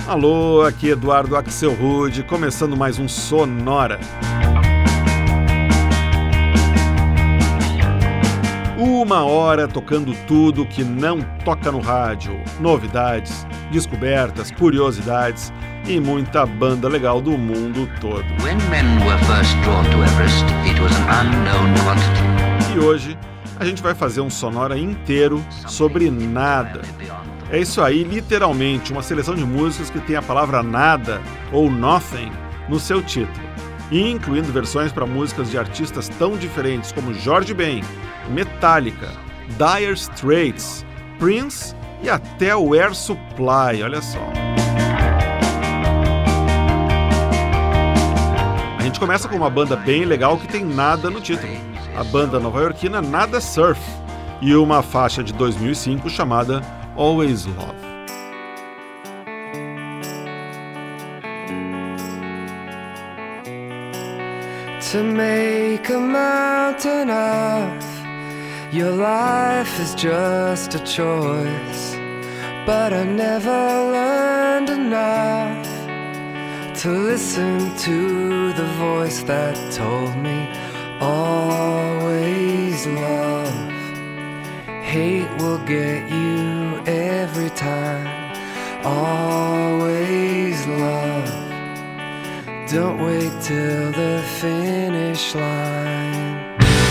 Alô, aqui Eduardo Axelrod, começando mais um Sonora. Uma hora tocando tudo que não toca no rádio, novidades, descobertas, curiosidades e muita banda legal do mundo todo. E hoje a gente vai fazer um Sonora inteiro sobre nada. É isso aí, literalmente, uma seleção de músicas que tem a palavra nada ou nothing no seu título, e incluindo versões para músicas de artistas tão diferentes como Jorge Ben, Metallica, Dire Straits, Prince e até o Air Supply, olha só. A gente começa com uma banda bem legal que tem nada no título, a banda nova-iorquina Nada Surf, e uma faixa de 2005 chamada Always Love. To make a mountain of your life is just a choice, but I never learned enough to listen to the voice that told me always love. Hate will get you every time. Always love. Don't wait till the finish line.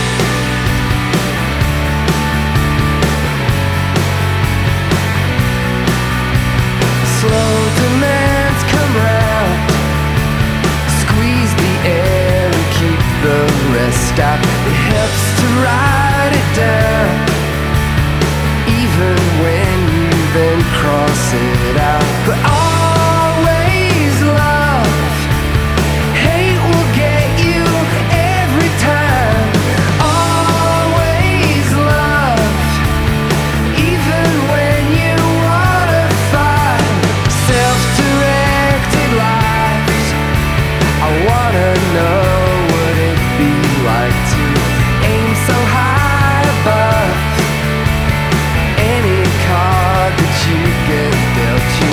Slow demands come round. Squeeze the air and keep the rest out. It helps to write it down, even when you then cross it out. But always love. Hate will get you every time. Always love, even when you wanna fight. Self-directed lives. I wanna know what it'd be like to aim so high above any card that you get dealt you.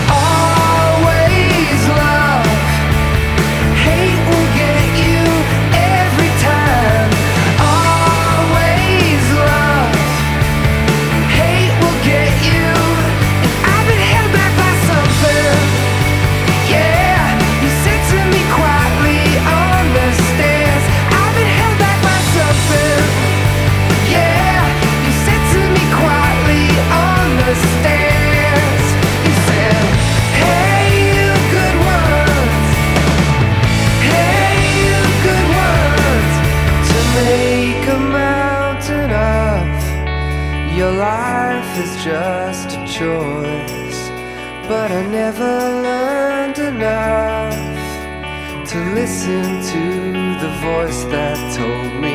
Always love. Hate will get you every time. Always love. Hate will get you. And I've been held back by something. Yeah, you said to me quietly on the stairs. I've been held back by something. Yeah, you said to me quietly on the stairs. You said, hey, you good ones. Hey, you good ones. To make a mountain of your life is just a choice, but I never learned enough to listen to the voice that told me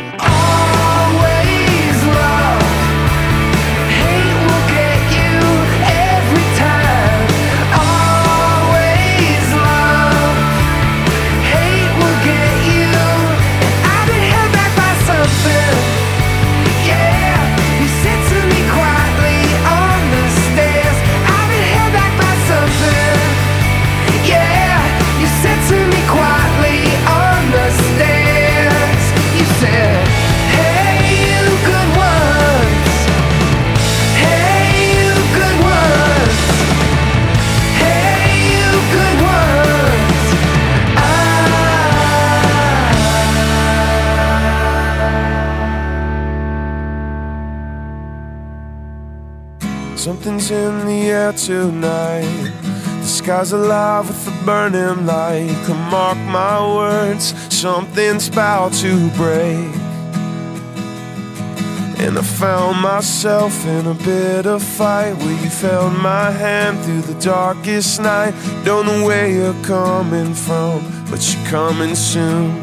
always love. Hate will get you every time. Always love. Hate will get you. And I've been held back by something. Yeah, you said to me quietly on the stairs. I've been held back by something. Yeah, you said to me quietly on the stairs. You said, hey, you good ones. Hey, you good ones. Hey, you good ones. Something's in the air tonight. The sky's alive with a burning light. Come mark my words, something's about to break. And I found myself in a bit of fight where you held my hand through the darkest night. Don't know where you're coming from, but you're coming soon.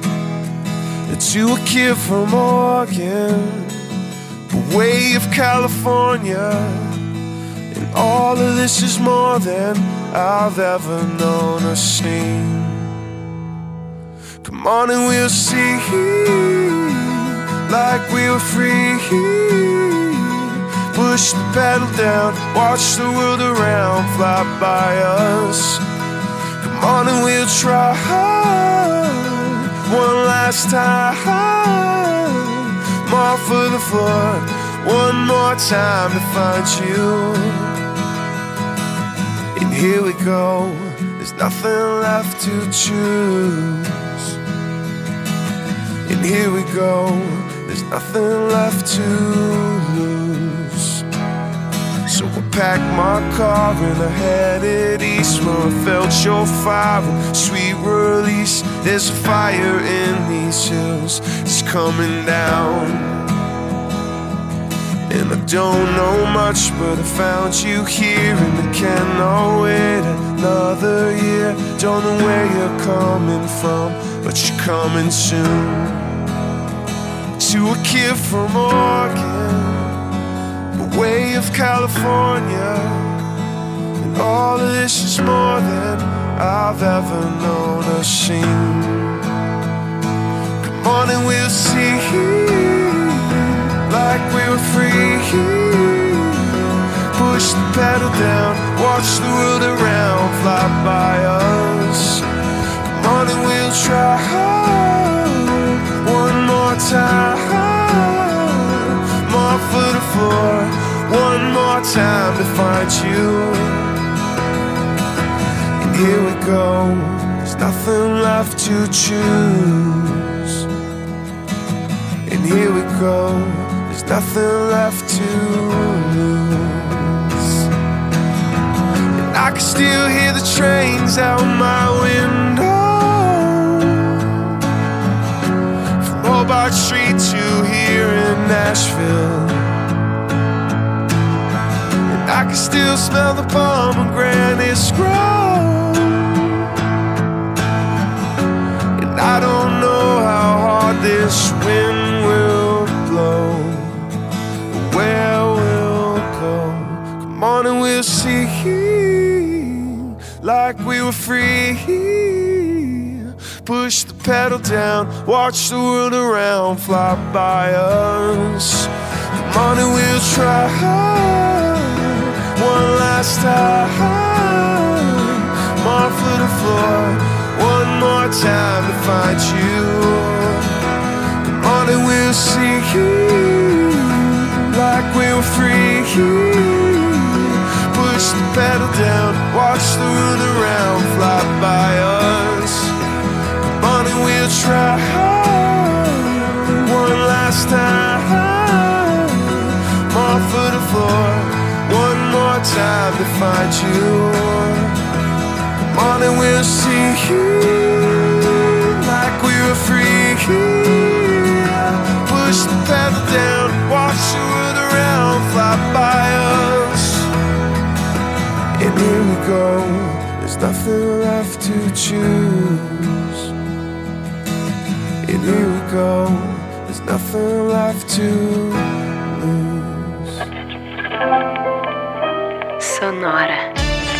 To a kid from Oregon, away of California, and all of this is more than I've ever known or seen. Come on and we'll see, like we were free. Put Push the pedal down, watch the world around fly by us. Come on and we'll try one last time. More for the floor, one more time to find you. And here we go, there's nothing left to choose. And here we go, there's nothing left to lose. So I packed my car and I headed east, where I felt your fire and sweet release. There's a fire in these hills, it's coming down. And I don't know much, but I found you here, and I cannot wait another year. Don't know where you're coming from, but you're coming soon. To a kid from Oregon, way of California, and all of this is more than I've ever known or seen. Come on and we'll see, like we were free. Push the pedal down, watch the world around fly by us. Come on and we'll try one more time. More for the floor, one more time to find you. And here we go, there's nothing left to choose. And here we go, there's nothing left to lose. And I can still hear the trains out my window, from Hobart Street to here in Nashville. I can still smell the pomegranates grow, and I don't know how hard this wind will blow, or where we'll go. Come on and we'll see, like we were free. Push the pedal down, watch the world around fly by us. Come on and we'll try one last time. More for the floor, one more time to find you. Come on and we'll see, like we were free. Push the pedal down, watch the world around fly by us. Come on and we'll try one last time. More for the floor, one more time to find you. Come on and we'll see, like we were free. Push the pedal down, watch the world around fly by us. And here we go, there's nothing left to choose. And here we go, there's nothing left to lose. Sonora.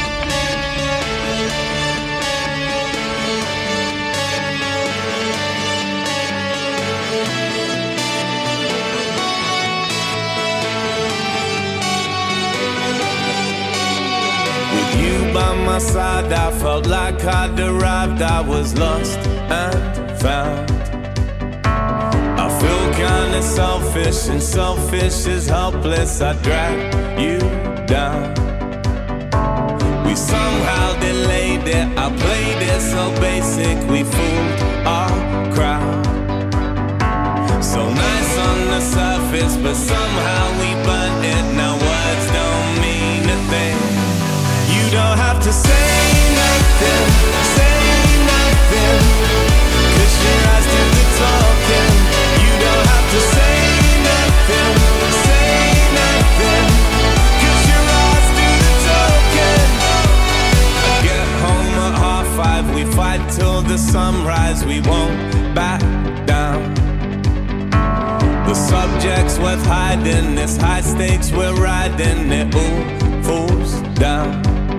With you by my side, I felt like I'd arrived. I was lost and found. I feel kinda selfish, and selfish is helpless. I drag you down. We somehow delayed it. I played it so basic, we fooled our crowd. So nice on the surface, but somehow we burnt it. Now words don't mean a thing. You don't have to say nothing, cause your eyes do the talking. You don't have to say nothing, cause your eyes do the talking. I get home at 5:30, we fight till the sunrise. We won't back down. The subject's worth hiding, this high stakes we're riding. It all falls down.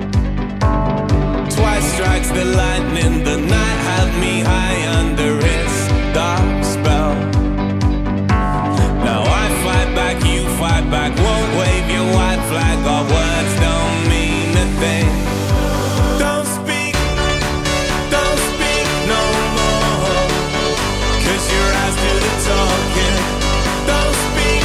Twice strikes the lightning, the night had me high under its dark spell. Now I fight back, you fight back, won't wave your white flag, our words don't mean a thing. Don't speak no more, 'cause your eyes do the talking. Don't speak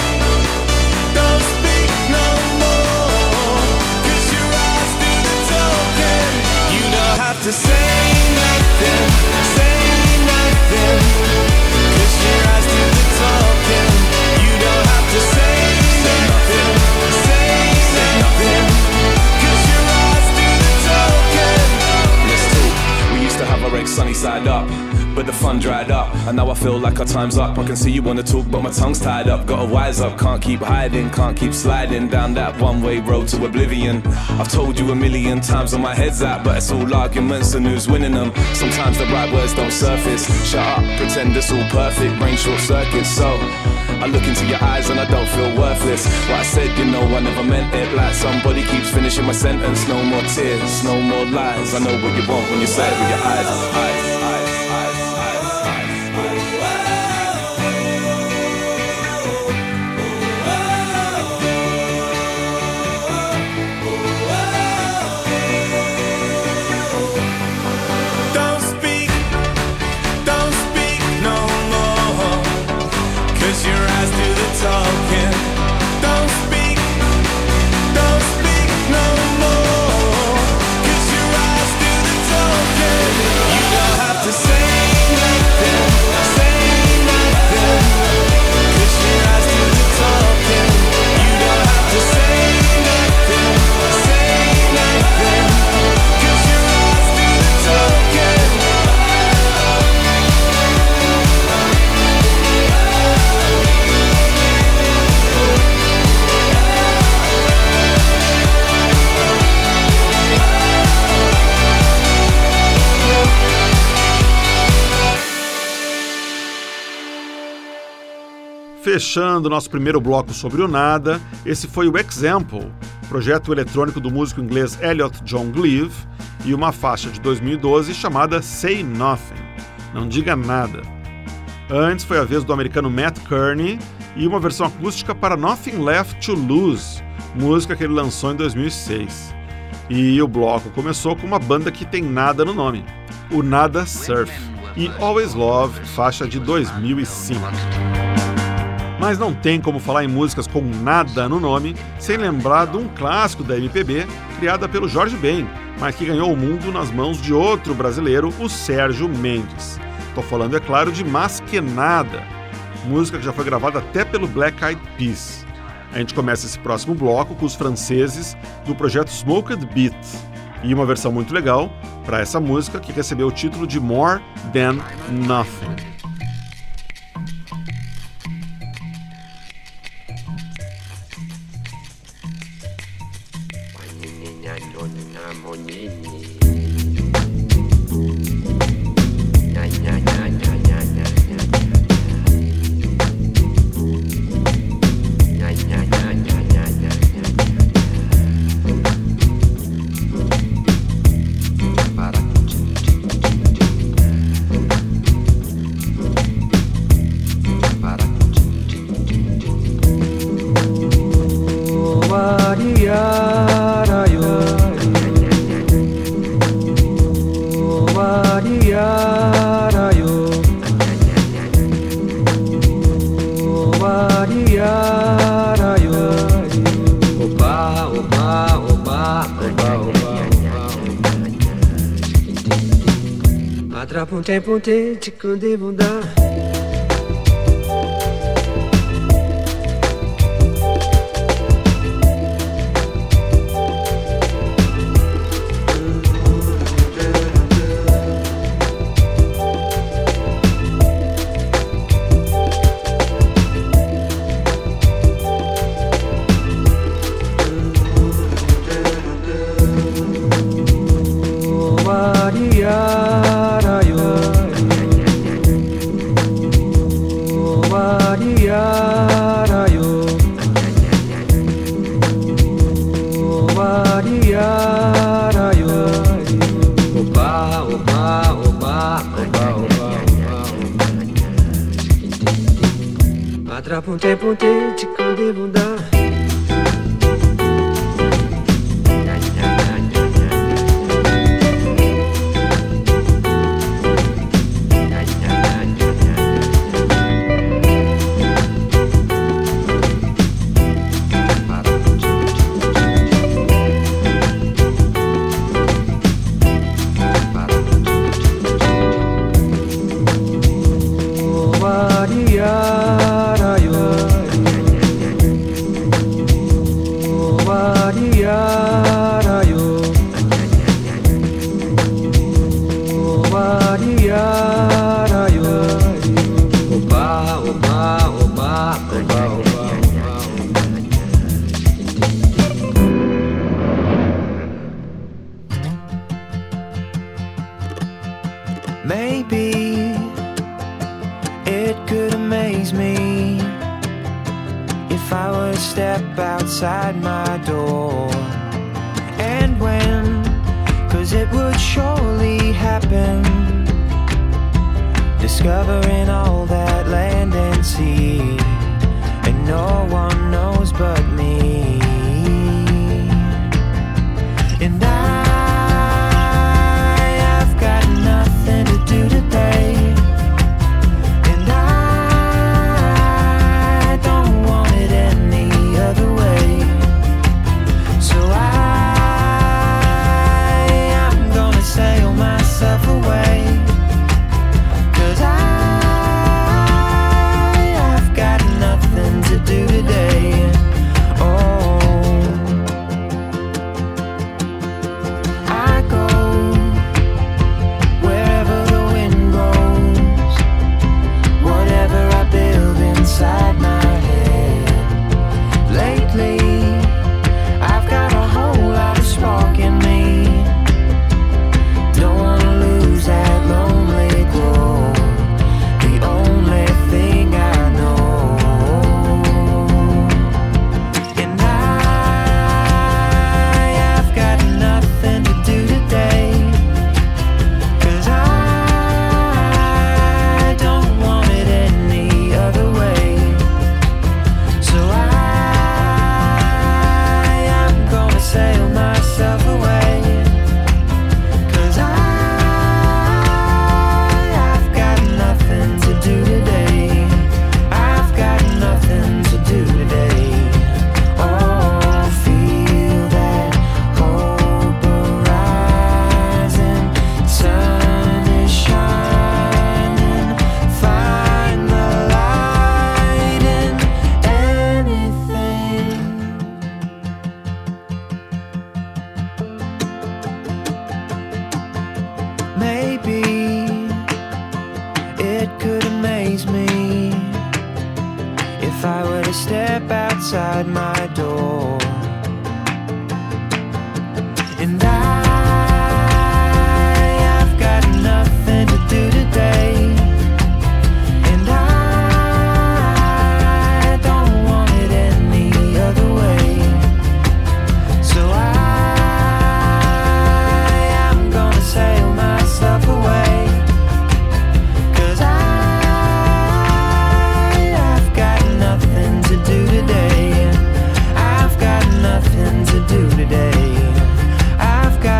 no more, 'cause your eyes do the talking. You don't have to say nothing, 'cause your eyes do the talking. You don't have to say nothing, 'cause your eyes do the talking. Let's talk. We used to have our eggs sunny side up, but the fun dried up, and now I feel like our time's up. I can see you wanna talk, but my tongue's tied up. Gotta wise up, can't keep hiding, can't keep sliding down that one-way road to oblivion. I've told you a million times where my head's at, but it's all arguments and who's winning them. Sometimes the right words don't surface. Shut up, pretend it's all perfect, brain short circuits. So I look into your eyes and I don't feel worthless. What I said, you know, I never meant it. Like somebody keeps finishing my sentence. No more tears, no more lies. I know what you want when you say it with your eyes. Talking. Don't speak no more, 'cause your eyes do the talking. You don't have to say nothing, 'cause your eyes do the talking. You don't have to say nothing, 'cause your eyes do the talking. Fechando nosso primeiro bloco sobre o nada, esse foi o Example, projeto eletrônico do músico inglês Elliot John Gleave, e uma faixa de 2012 chamada Say Nothing, não diga nada. Antes foi a vez do americano Matt Kearney e uma versão acústica para Nothing Left to Lose, música que ele lançou em 2006. E o bloco começou com uma banda que tem nada no nome, o Nada Surf, e Always Love, faixa de 2005. Mas não tem como falar em músicas com nada no nome sem lembrar de um clássico da MPB criada pelo Jorge Ben, mas que ganhou o mundo nas mãos de outro brasileiro, o Sérgio Mendes. Estou falando, é claro, de Mas Que Nada, música que já foi gravada até pelo Black Eyed Peas. A gente começa esse próximo bloco com os franceses do projeto Smoked Beat e uma versão muito legal para essa música que recebeu o título de More Than Nothing. Punte punte chikunde bunda. Punte punte chikunde bunda. inside my door. And when, 'cause it would surely happen, discovering all that land and sea, and no one knows but me. And I've got nothing to do today, and I don't want it any other way. So I'm gonna sail myself away, 'cause I've got nothing to do today. Oh, I go wherever the wind blows, whatever I build inside my head. Lately, I've got a whole lot of spark in me. Don't wanna lose that lonely glow, the only thing I know. And I've got nothing to do today, 'cause I don't want it any other way. So I'm gonna sail myself away, 'cause I've got nothing to do today. I've got nothing to do today. Oh, feel that hope arising, sun is shining, find the light in anything. Maybe it could amaze me if I were to step outside my door. And I've got nothing to do today, and I don't want it any other way. So I'm gonna sail myself away, 'cause I've got nothing to do today. I've got nothing to do today. I've got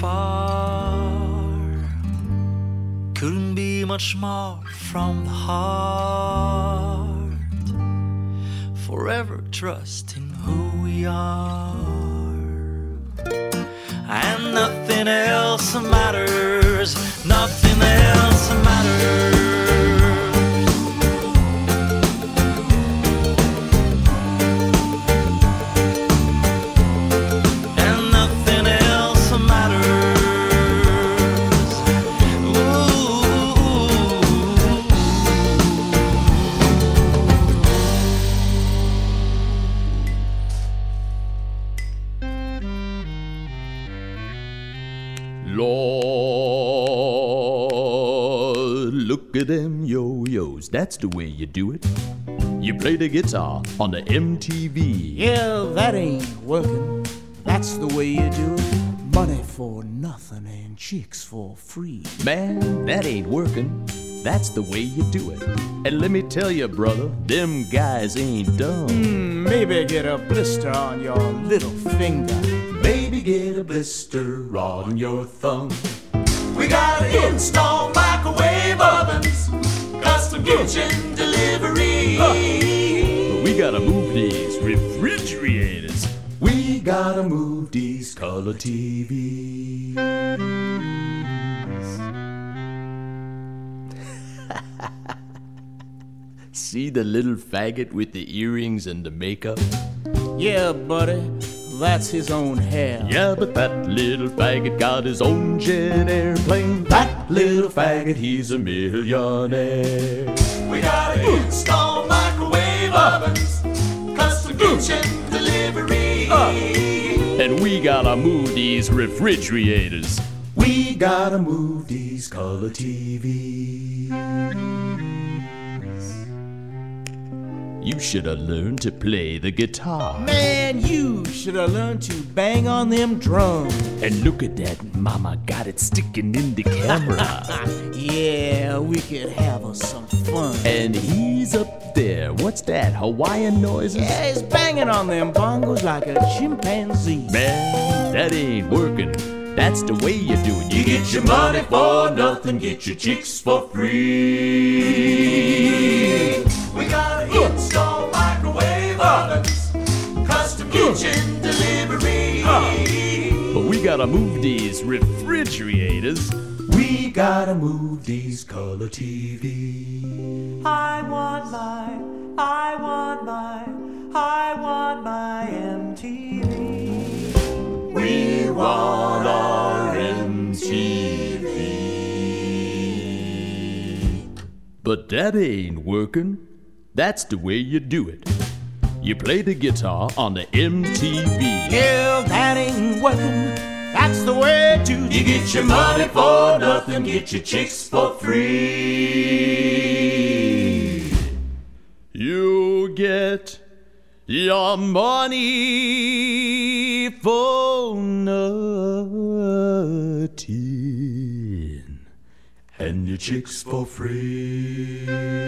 far. Couldn't be much more from the heart. Forever trusting who we are. And nothing else matters. Nothing else matters. Lord, look at them yo-yos, that's the way you do it. You play the guitar on the MTV. Yeah, that ain't working, that's the way you do it. Money for nothing and chicks for free. Man, that ain't working, that's the way you do it. And let me tell you, brother, them guys ain't dumb. Maybe get a blister on your little finger. Maybe get a blister on your thumb. We gotta install microwave ovens, custom kitchen delivery. We gotta move these refrigerators. We gotta move these color TVs. See the little faggot with the earrings and the makeup? Yeah, buddy, that's his own hair. Yeah, but that little faggot got his own jet airplane. That little faggot, he's a millionaire. We gotta install microwave ovens, custom kitchen delivery. And we gotta move these refrigerators. We gotta move these color TVs. You should have learned to play the guitar. Man, you should have learned to bang on them drums. And look at that, mama got it sticking in the camera. Yeah, we could have us some fun. And he's up there, what's that, Hawaiian noises? Yeah, he's banging on them bongos like a chimpanzee. Man, that ain't working. That's the way you do it. You get your money for nothing, get your chicks for free. We gotta install microwave ovens, custom kitchen delivery. But we gotta move these refrigerators. We gotta move these color TVs. I want my MTV. We want our MTV. But that ain't working. That's the way you do it. You play the guitar on the MTV. Yeah, that ain't working. That's the way to do. You get your money for nothing, get your chicks for free. You get your money for nothing and your chicks for free.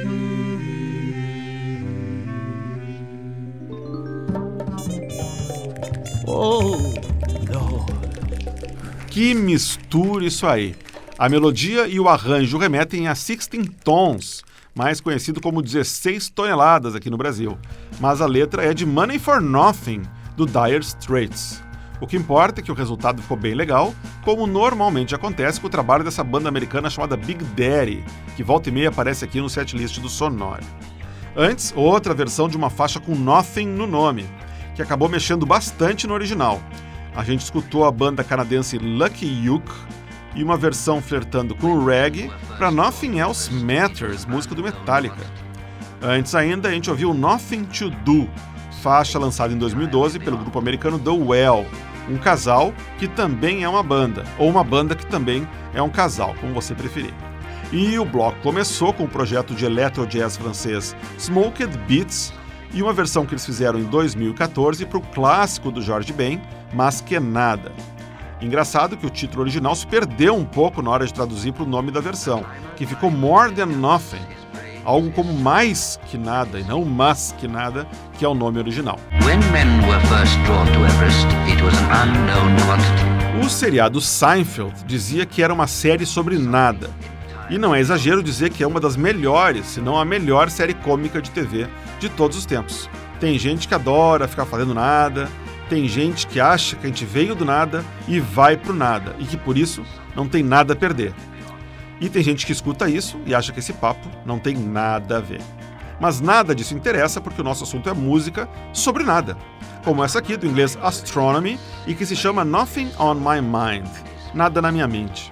Oh, Lord. Que mistura isso aí! A melodia e o arranjo remetem a 16 Tons, mais conhecido como 16 toneladas aqui no Brasil. Mas a letra é de Money for Nothing, do Dire Straits. O que importa é que o resultado ficou bem legal, como normalmente acontece com o trabalho dessa banda americana chamada Big Daddy, que volta e meia aparece aqui no setlist do Sonora. Antes, outra versão de uma faixa com Nothing no nome, que acabou mexendo bastante no original. A gente escutou a banda canadense Lucky Luke e uma versão flertando com o reggae para Nothing Else Matters, música do Metallica. Antes ainda, a gente ouviu Nothing to Do, faixa lançada em 2012 pelo grupo americano The Well, um casal que também é uma banda, ou uma banda que também é um casal, como você preferir. E o bloco começou com o projeto de electro jazz francês Smoked Beats e uma versão que eles fizeram em 2014 para o clássico do Jorge Ben, Mas Que Nada. Engraçado que o título original se perdeu um pouco na hora de traduzir para o nome da versão, que ficou More Than Nothing, algo como mais que nada e não mas que nada, que é o nome original. When men were first drawn to Everest, it was an unknown quantity. O seriado Seinfeld dizia que era uma série sobre nada. E não é exagero dizer que é uma das melhores, se não a melhor série cômica de TV de todos os tempos. Tem gente que adora ficar fazendo nada, tem gente que acha que a gente veio do nada e vai pro nada, e que por isso não tem nada a perder. E tem gente que escuta isso e acha que esse papo não tem nada a ver. Mas nada disso interessa porque o nosso assunto é música sobre nada, como essa aqui do inglês Astronomy e que se chama Nothing on My Mind, nada na minha mente.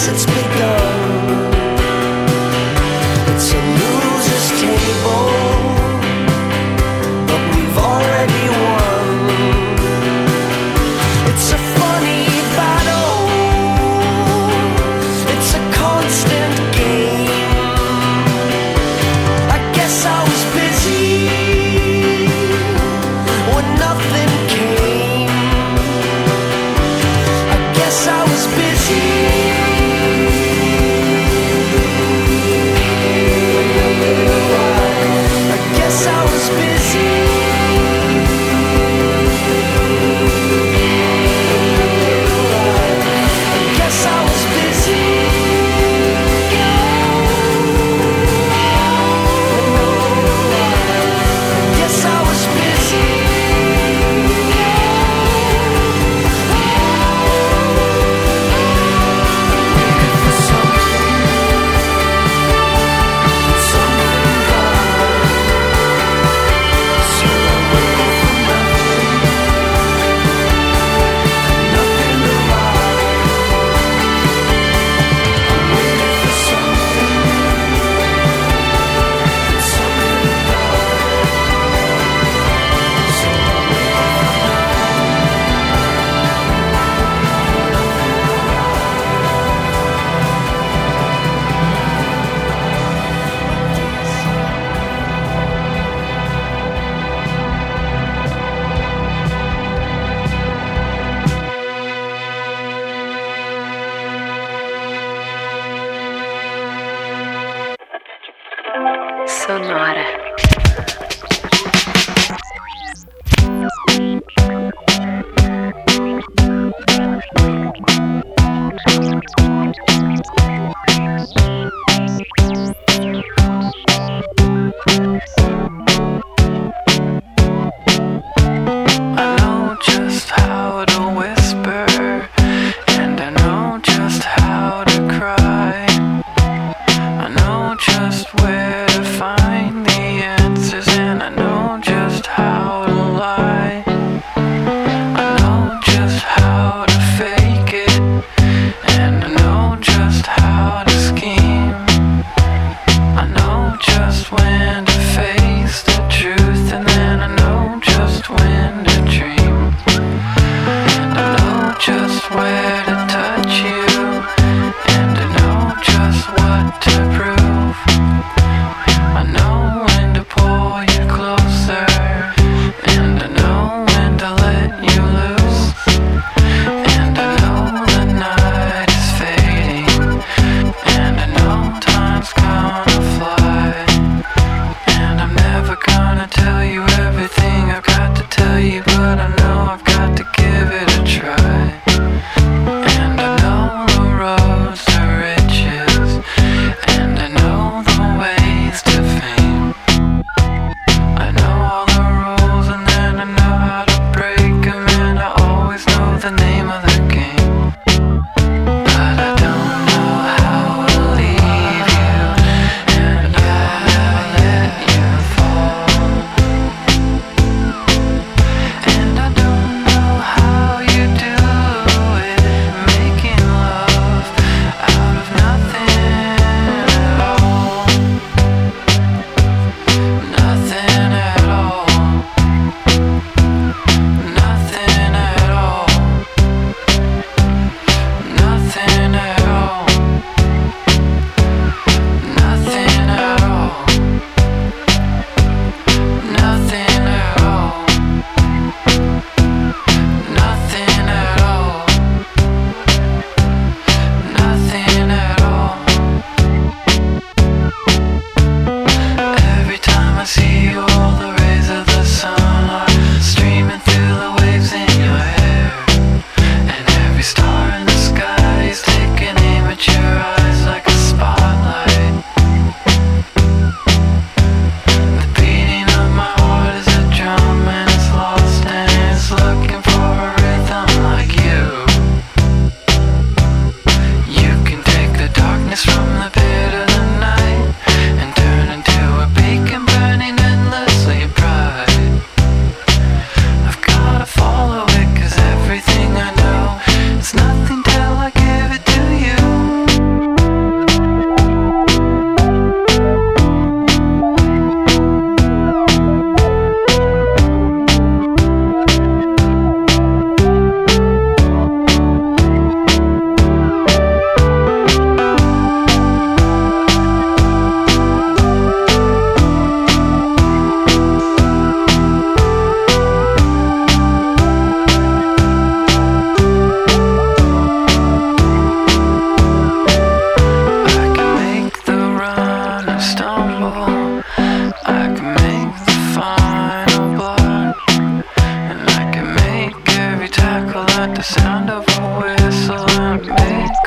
guess it's begun. It's a loser's table, but we've already won. It's a funny battle, it's a constant game. I guess I was busy when nothing came. I guess I was busy. I guess I was busy. I guess I was busy. I guess I was busy. Sonora. I know just how to whisper, and I know just how to cry. I know just where to find the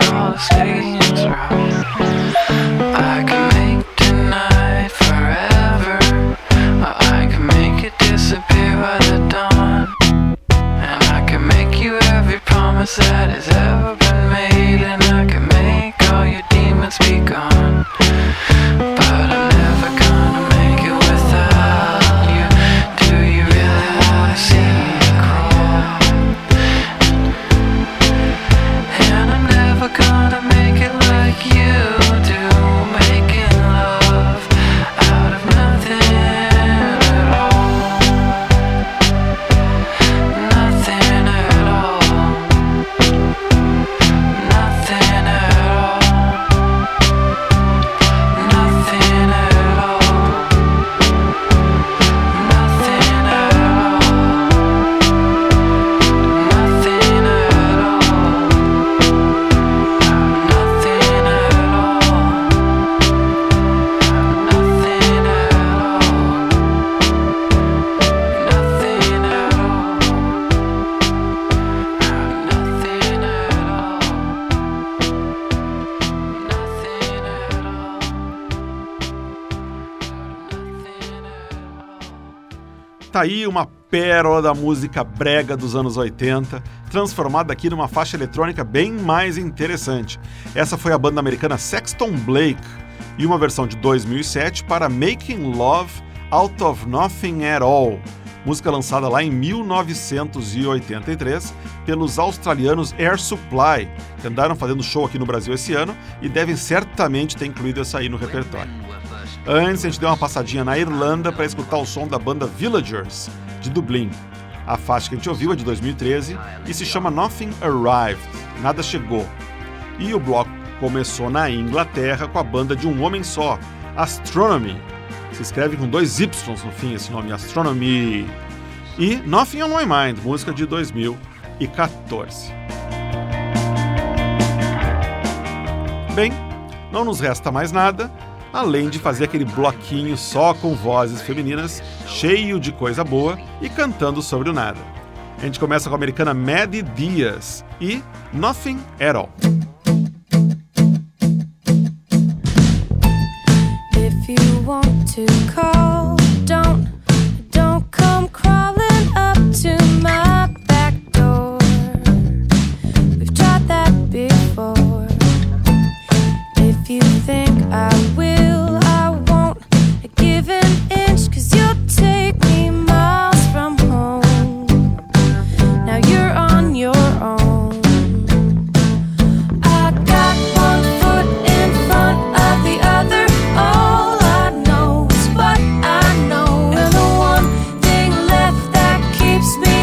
all the stadiums round. I can make tonight forever, or I can make it disappear by the dawn. And I can make you every promise that has ever been made, and I can make all your demons be gone. But I'm never gonna make it without you. Do you really wanna see me crawl? And I'm never gonna make it like you do, making love out of nothing at all. Nothing at all. Nothing at all. Nothing at all. Nothing at all. Nothing at all. Nothing at all. Nothing at Tá aí uma pérola da música brega dos anos 80, transformada aqui numa faixa eletrônica bem mais interessante. Essa foi a banda americana Sexton Blake e uma versão de 2007 para Making Love Out of Nothing at All, música lançada lá em 1983 pelos australianos Air Supply, que andaram fazendo show aqui no Brasil esse ano e devem certamente ter incluído essa aí no repertório. Antes, a gente deu uma passadinha na Irlanda para escutar o som da banda Villagers, de Dublin. A faixa que a gente ouviu é de 2013 e se chama Nothing Arrived, Nada Chegou. E o bloco começou na Inglaterra com a banda de um homem só, Astronomy. Se escreve com 2 Ys no fim esse nome, Astronomy. E Nothing on My Mind, música de 2014. Bem, não nos resta mais nada, além de fazer aquele bloquinho só com vozes femininas, cheio de coisa boa e cantando sobre o nada. A gente começa com a americana Maddie Diaz e Nothing at All. If you want to call, don't come crawling up to my back door. We've tried that before. If you think I will, I won't give an inch, 'cause you'll take me miles from home. Now you're on your own. I got one foot in front of the other. All I know is what I know, and the one thing left that keeps me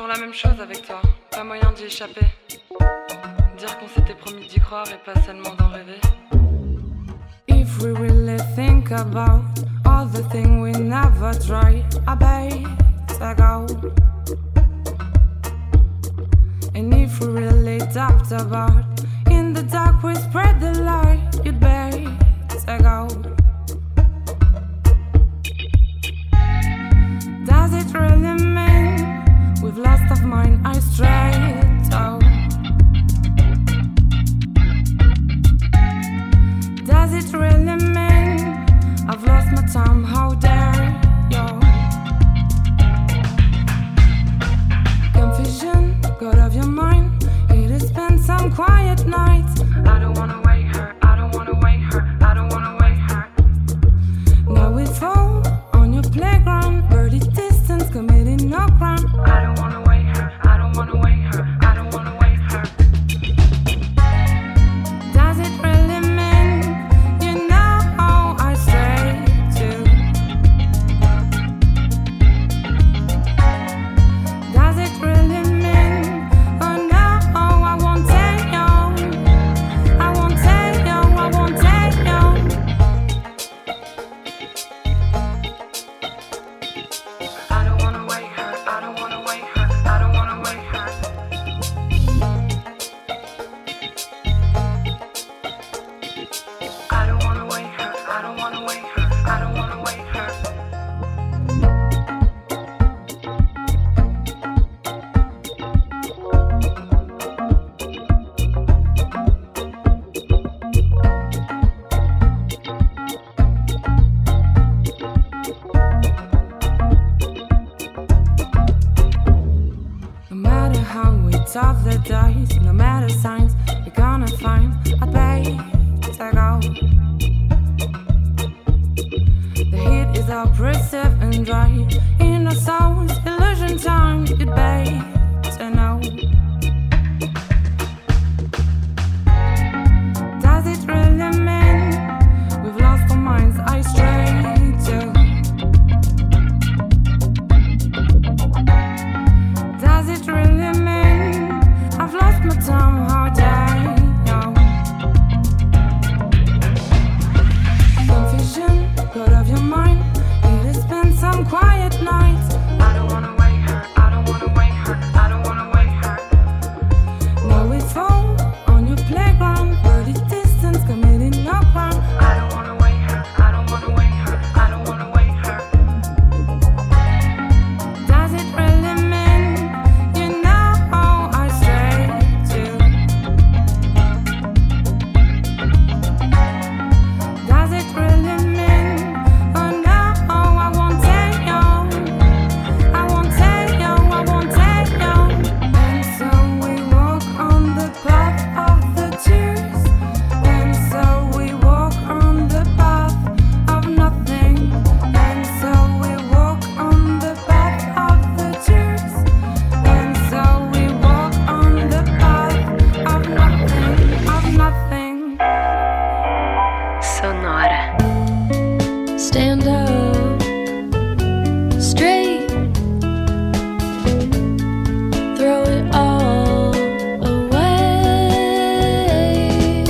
toujours la même chose avec toi, pas moyen d'y échapper. Dire qu'on s'était promis d'y croire et pas seulement d'en rêver. If we really think about all the things we never tried, I better go. And if we really talked about in the dark we spread the light, you'd better go. Does it really mean we've lost our mind? I strayed out. Does it really mean I've lost my time? How dare you? Confusion got of your mind. It has spent some quiet nights. I don't wanna wake her, I don't wanna wake her, I don't wanna wake her. Now we fall on your playground, birdie distance, committing no crime. I don't wanna wake her, I don't wanna wake her, I don't wanna wake her. Does it really mean you know I strayed too? Does it really mean oh no, I won't take you, I won't take you, I won't take you. I don't wanna wake her, I don't wanna wake her, I don't wanna wake her. I don't wanna wake her, I don't wanna wake her, I don't wanna wake her. No matter how we toss the dice, no matter signs we're gonna find, I'd better go. The heat is oppressive and dry in our souls, illusion time, you'd better know. Does it really mean we've lost our minds? I strayed too. Does it really mean I've lost my time? How dare you? Confusion got of your mind. It has been some quiet nights. I don't wanna wake her, I don't wanna wake her, I don't wanna wake her. Now we fall on your playground, birdie distance, committing no crime. I don't wanna wake her, I don't wanna wake her, I don't wanna wake her. Does it really mean you know I strayed too? Does it really mean oh no, I won't take you, I won't take you, I won't take you. And so we walk on the path of the tears, and so we walk on the path of nothing, and so we walk on the path of the tears, and so we walk on the path of nothing, of nothing. Sonora. Stand up straight, throw it all away.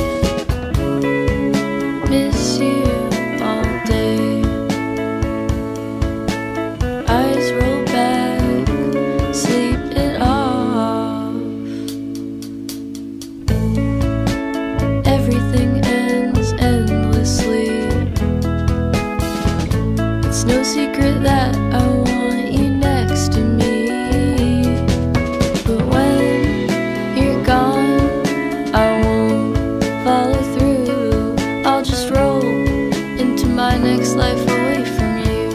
Miss you all day. Eyes roll back, sleep it off. Everything ends endlessly. It's no secret that I want you next to me. But when you're gone, I won't follow through. I'll just roll into my next life away from you.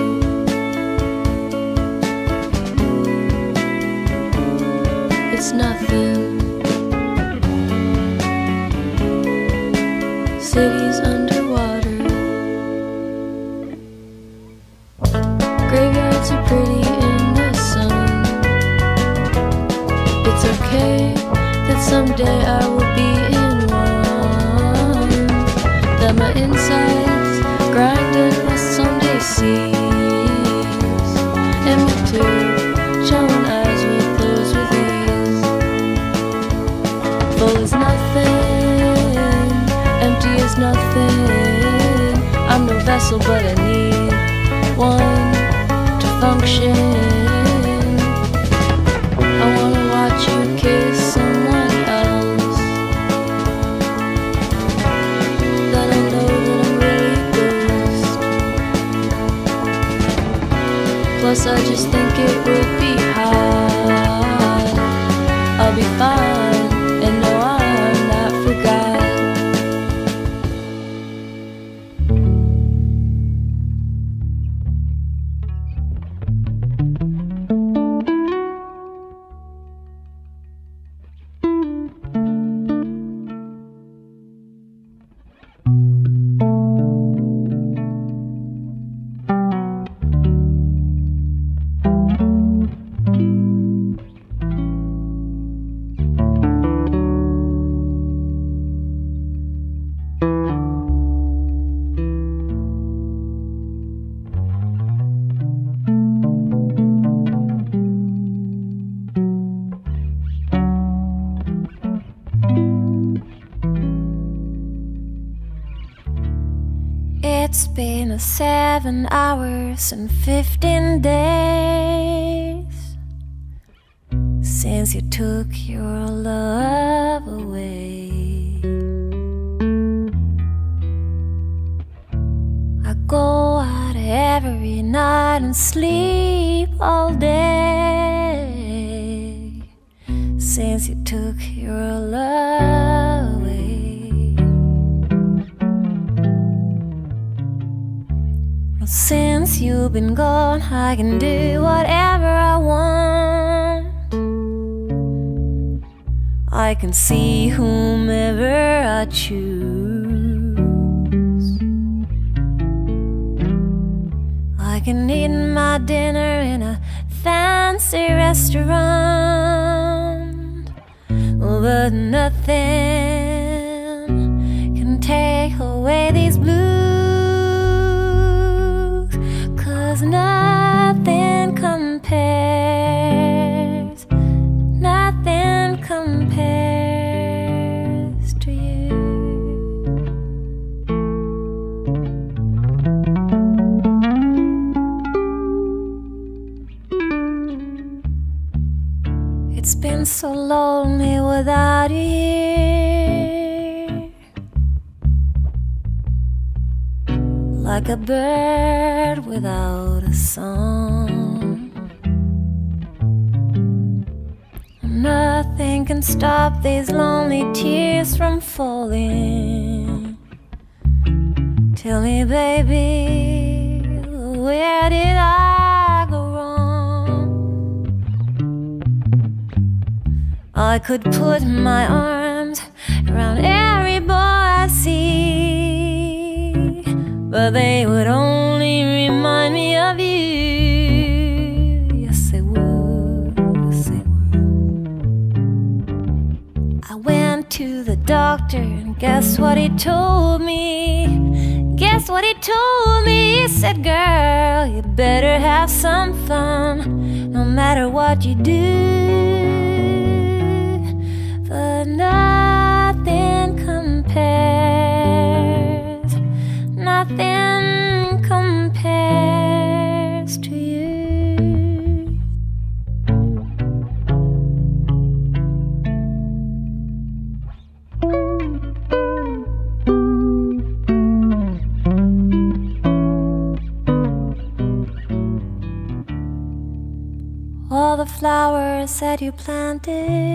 It's nothing. Cities underwater. Graveyards are pretty in the sun. It's okay that someday I will be in one. That my insides grind and rust someday cease. And with two showing eyes with those castle, but I need one to function. I wanna watch you kiss someone else. Then I know that I'm really ghost. Plus I just think it would be hard. I'll be fine, and no, I'm not forgot. It's been 7 hours and 15 days since you took your love away. I go out every night and sleep all day since you took your love away. Since you've been gone, I can do whatever I want. I can see whomever I choose. I can eat my dinner in a fancy restaurant, but nothing can take away these blues. Nothing compares, nothing compares to you. It's been so lonely without you here, like a bird without a song. Nothing can stop these lonely tears from falling. Tell me, baby, where did I go wrong? I could put my arms around every boy I see, but they would only remind me of you. Yes, they would, yes, they would. I went to the doctor and guess what he told me? Guess what he told me? He said, girl, you better have some fun, no matter what you do. But nothing compares, nothing compares to you. All the flowers that you planted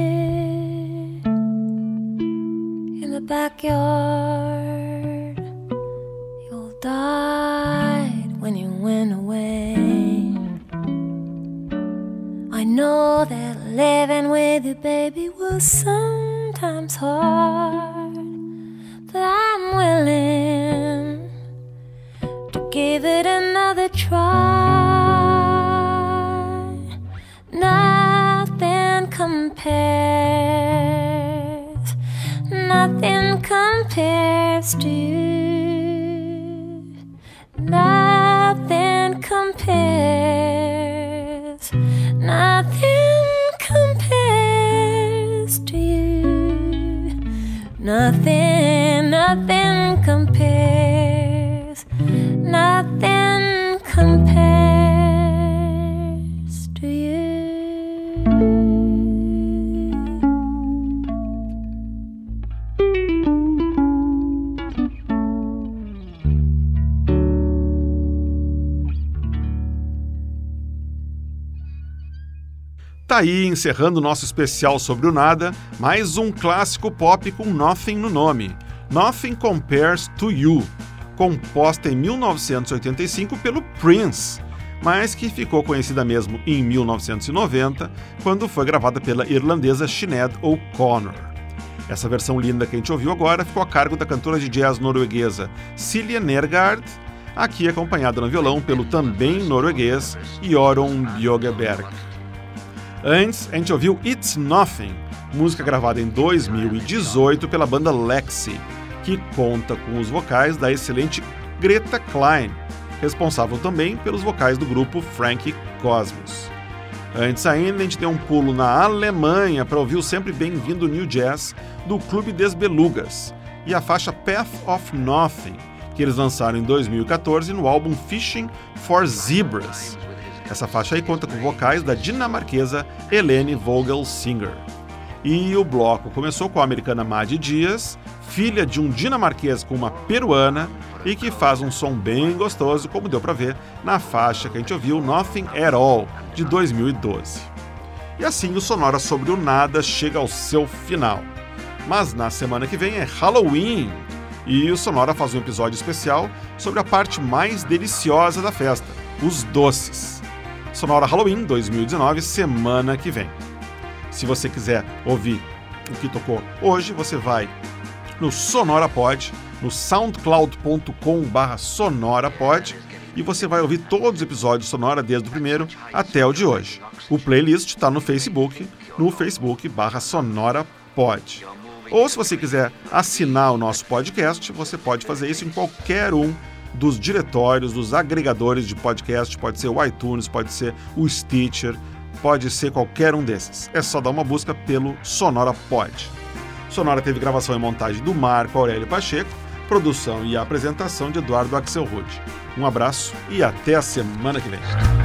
in the backyard, you all died when you went away. I know that living with you, baby, was sometimes hard, but I'm willing to give it another try. Nothing compares, nothing compares to you. Nothing compares, nothing compares to you. Nothing, nothing compares, nothing Tá aí, encerrando o nosso especial sobre o nada, mais um clássico pop com Nothing no nome, Nothing Compares to You, composta em 1985 pelo Prince, mas que ficou conhecida mesmo em 1990, quando foi gravada pela irlandesa Sinead O'Connor. Essa versão linda que a gente ouviu agora ficou a cargo da cantora de jazz norueguesa Silje Nergard, aqui acompanhada no violão pelo também norueguês Jorunn Bjørgeberg. Antes, a gente ouviu It's Nothing, música gravada em 2018 pela banda Lexi, que conta com os vocais da excelente Greta Klein, responsável também pelos vocais do grupo Frankie Cosmos. Antes ainda, a gente deu um pulo na Alemanha para ouvir o sempre bem-vindo New Jazz do Clube des Belugas e a faixa Path of Nothing, que eles lançaram em 2014 no álbum Fishing for Zebras. Essa faixa aí conta com vocais da dinamarquesa Helene Vogelsinger. E o bloco começou com a americana Maddy Dias, filha de um dinamarquês com uma peruana e que faz um som bem gostoso, como deu para ver na faixa que a gente ouviu, Nothing at All, de 2012. E assim o Sonora sobre o Nada chega ao seu final. Mas na semana que vem é Halloween e o Sonora faz um episódio especial sobre a parte mais deliciosa da festa, os doces. Sonora Halloween 2019, semana que vem. Se você quiser ouvir o que tocou hoje, você vai no SonoraPod, no soundcloud.com/sonorapod, e você vai ouvir todos os episódios Sonora desde o primeiro até o de hoje. O playlist está no Facebook, no facebook.com/sonorapod. Ou se você quiser assinar o nosso podcast, você pode fazer isso em qualquer um dos diretórios, dos agregadores de podcast, pode ser o iTunes, pode ser o Stitcher, pode ser qualquer um desses. É só dar uma busca pelo SonoraPod. Sonora teve gravação e montagem do Marco Aurélio Pacheco, produção e apresentação de Eduardo Axelrod. Um abraço e até a semana que vem.